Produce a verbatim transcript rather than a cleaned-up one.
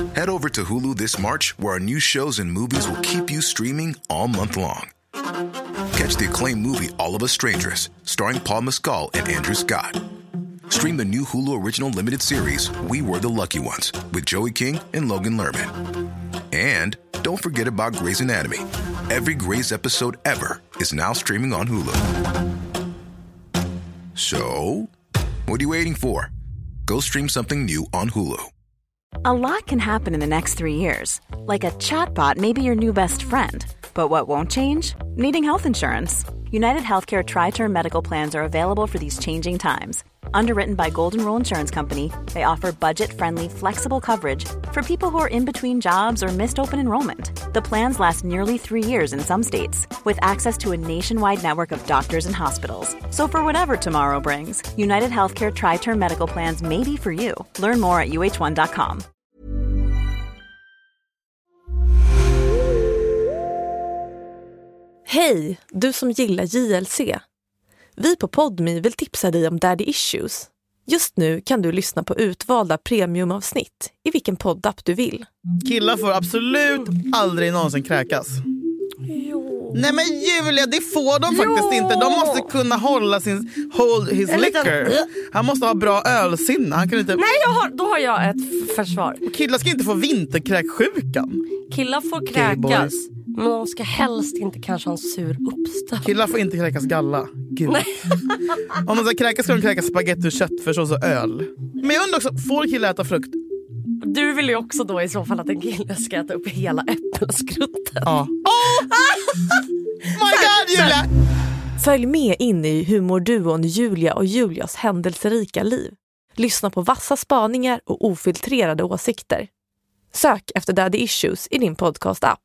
Head over to Hulu this March, where our new shows and movies will keep you streaming all month long. Catch the acclaimed movie All of Us Strangers, starring Paul Mescal and Andrew Scott. Stream the new Hulu original limited series We Were the Lucky Ones with Joey King and Logan Lerman. And don't forget about Grey's Anatomy. Every Grey's episode ever is now streaming on Hulu. So, what are you waiting for? Go stream something new on Hulu. A lot can happen in the next three years. Like a chatbot may be your new best friend. But what won't change? Needing health insurance. United Healthcare Tri-Term Medical Plans are available for these changing times. Underwritten by Golden Rule Insurance Company, they offer budget-friendly, flexible coverage for people who are in between jobs or missed open enrollment. The plans last nearly three years in some states, with access to a nationwide network of doctors and hospitals. So for whatever tomorrow brings, United Healthcare Tri-Term Medical Plans may be for you. Learn more at U H one dot com. Hej, du som gillar J L C. Vi på Podme vill tipsa dig om Daddy Issues. Just nu kan du lyssna på utvalda premiumavsnitt i vilken poddapp du vill. Killar får absolut aldrig någonsin kräkas. Jo. Nej men Julia, det får de faktiskt Jo. inte. De måste kunna hålla sin hold his En liten- liquor. Han måste ha bra ölsinne. Han kan inte... Nej, jag har, då har jag ett försvar. Killar ska inte få vinterkräksjukan. Killar får Gay boys. kräkas, men de ska helst inte kanske ha en sur uppstöt. Killar får inte kräkas galla. Gud. Om de ska kräkas ska de kräkas spagetti och köttfärssås och öl. Men jag undrar också, får killar äta frukt? Du vill ju också då i så fall att en kille ska äta upp hela äppelskrutten. Ja. Oh! My God, Julia! Följ med in i humorduon Julia och Julias händelserika liv. Lyssna på vassa spaningar och ofiltrerade åsikter. Sök efter Daddy Issues i din podcast-app.